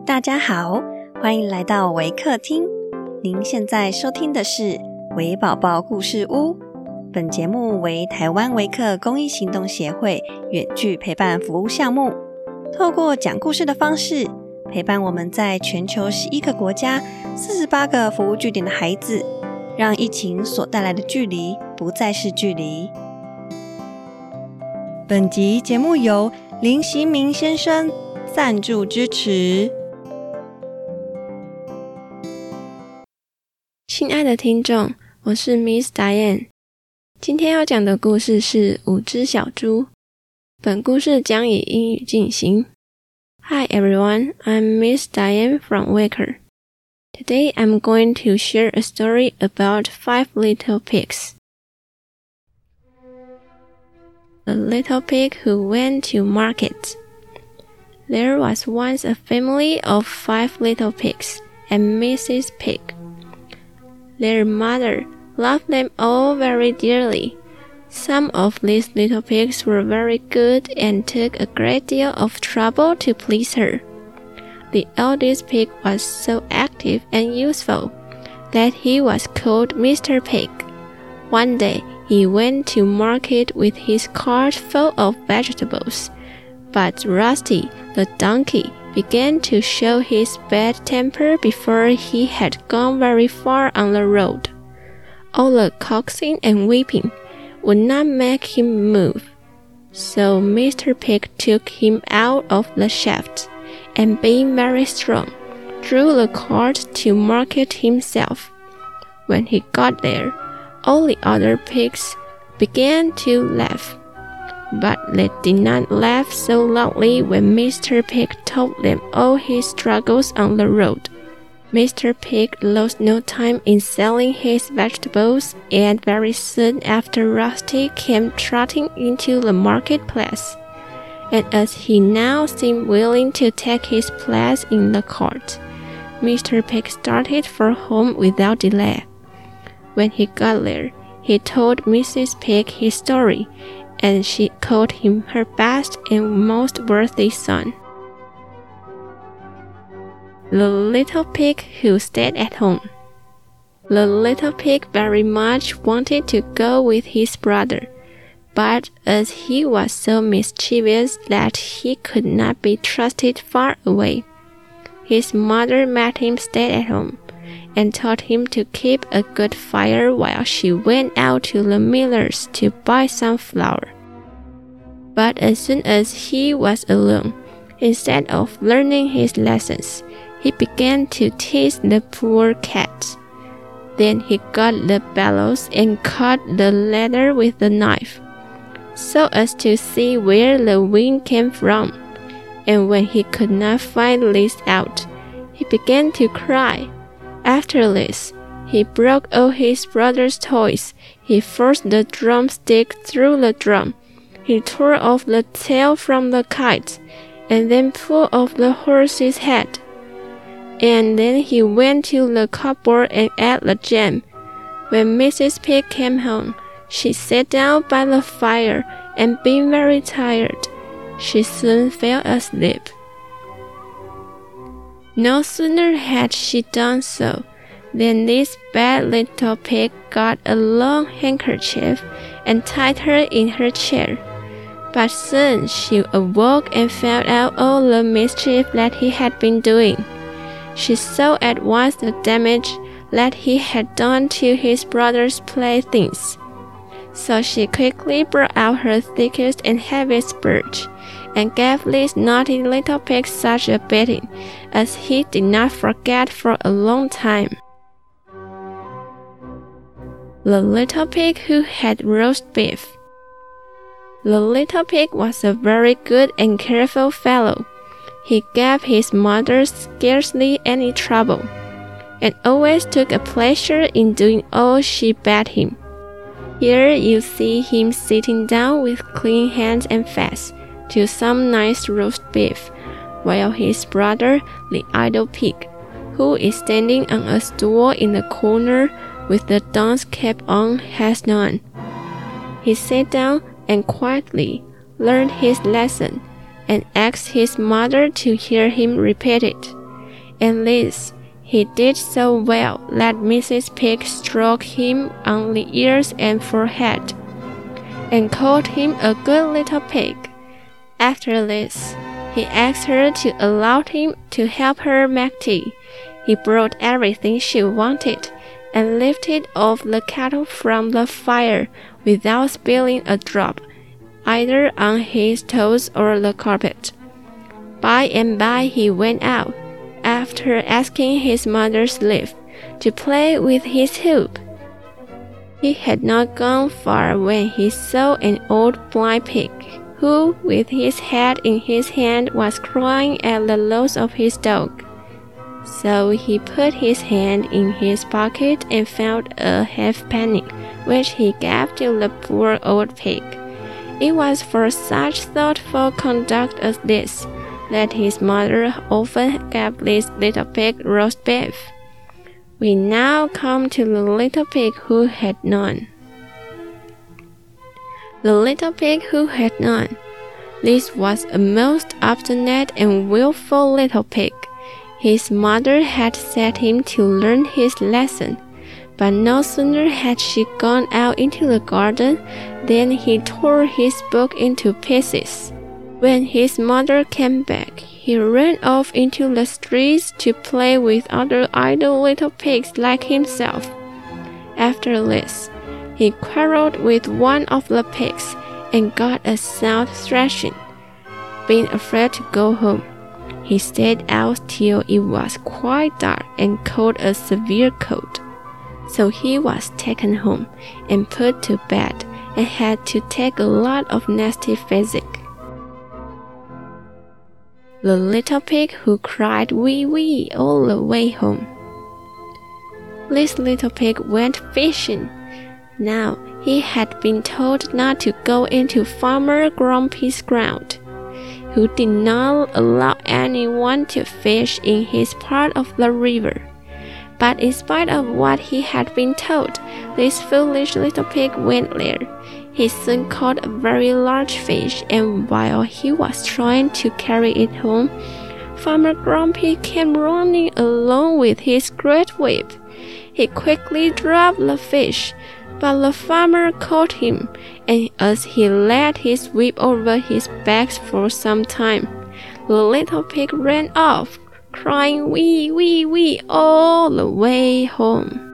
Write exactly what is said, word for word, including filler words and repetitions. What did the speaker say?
大家好，欢迎来到微客厅。您现在收听的是微宝宝故事屋。本节目为台湾微客公益行动协会远距陪伴服务项目，透过讲故事的方式，陪伴我们在全球十一个国家、四十八个服务据点的孩子，让疫情所带来的距离不再是距离。本集节目由林习明先生赞助支持。 亲爱的听众，我是 Miss Diane。今天要讲的故事是五只小猪。本故事将以英语进行。Hi everyone, I'm Miss Diane from Waker. Today I'm going to share a story about five little pigs. A little pig who went to market. There was once a family of five little pigs and Missus Pig.Their mother loved them all very dearly. Some of these little pigs were very good and took a great deal of trouble to please her. The eldest pig was so active and useful that he was called Mister Pig. One day, he went to market with his cart full of vegetables, but Rusty, the donkey, began to show his bad temper before he had gone very far on the road. All the coaxing and weeping would not make him move, so Mister Pig took him out of the shaft, and being very strong, drew the cart to market himself. When he got there, all the other pigs began to laugh.But they did not laugh so loudly when Mister Pig told them all his struggles on the road. Mister Pig lost no time in selling his vegetables, and very soon after Rusty came trotting into the marketplace. And as he now seemed willing to take his place in the cart, Mister Pig started for home without delay. When he got there, he told Missus Pig his story,and she called him her best and most worthy son. The little pig who stayed at home. The little pig very much wanted to go with his brother, but as he was so mischievous that he could not be trusted far away, his mother made him stay at home, and taught him to keep a good fire while she went out to the miller's to buy some flour.But as soon as he was alone, instead of learning his lessons, he began to tease the poor cat. Then he got the bellows and cut the leather with a knife, so as to see where the wind came from. And when he could not find this out, he began to cry. After this, he broke all his brother's toys. He forced the drumstick through the drum.He tore off the tail from the kite, and then pulled off the horse's head. And then he went to the cupboard and ate the jam. When Missus Pig came home, she sat down by the fire, and being very tired, she soon fell asleep. No sooner had she done so, than this bad little pig got a long handkerchief and tied her in her chair.But soon she awoke and found out all the mischief that he had been doing. She saw at once the damage that he had done to his brother's playthings. So she quickly brought out her thickest and heaviest birch, and gave this naughty little pig such a beating as he did not forget for a long time. The little pig who had roast beef.The little pig was a very good and careful fellow. He gave his mother scarcely any trouble, and always took a pleasure in doing all she bade him. Here you see him sitting down with clean hands and face to some nice roast beef, while his brother, the idle pig, who is standing on a stool in the corner with the dunce cap on, has none. He sat down,and quietly learned his lesson, and asked his mother to hear him repeat it. and this he did so well that Missus Pig stroked him on the ears and forehead, and called him a good little pig. After this, he asked her to allow him to help her make tea. He brought everything she wanted, and lifted off the kettle from the fire without spilling a drop, either on his toes or the carpet. By and by he went out, after asking his mother's leave, to play with his hoop. He had not gone far when he saw an old blind pig, who, with his head in his hand, was crying at the loss of his dog. So he put his hand in his pocket and found a halfpenny, which he gave to the poor old pig. It was for such thoughtful conduct as this that his mother often gave this little pig roast beef. We now come to the little pig who had none. The little pig who had none. This was a most obstinate and willful little pig. His mother had set him to learn his lesson, but no sooner had she gone out into the garden than he tore his book into pieces. When his mother came back, he ran off into the streets to play with other idle little pigs like himself. After this, he quarreled with one of the pigs and got a sound thrashing. Being afraid to go home, he stayed out till it was quite dark and caught a severe cold. So he was taken home and put to bed and had to take a lot of nasty physic. The little pig who cried wee wee all the way home. This little pig went fishing. Now he had been told not to go into Farmer Grumpy's ground, who did not allow anyone to fish in his part of the river. But in spite of what he had been told, this foolish little pig went there. He soon caught a very large fish, and while he was trying to carry it home, Farmer Grumpy came running along with his great whip. He quickly dropped the fish, but the farmer caught him, and as he laid his whip over his back for some time, the little pig ran off, crying wee wee wee all the way home.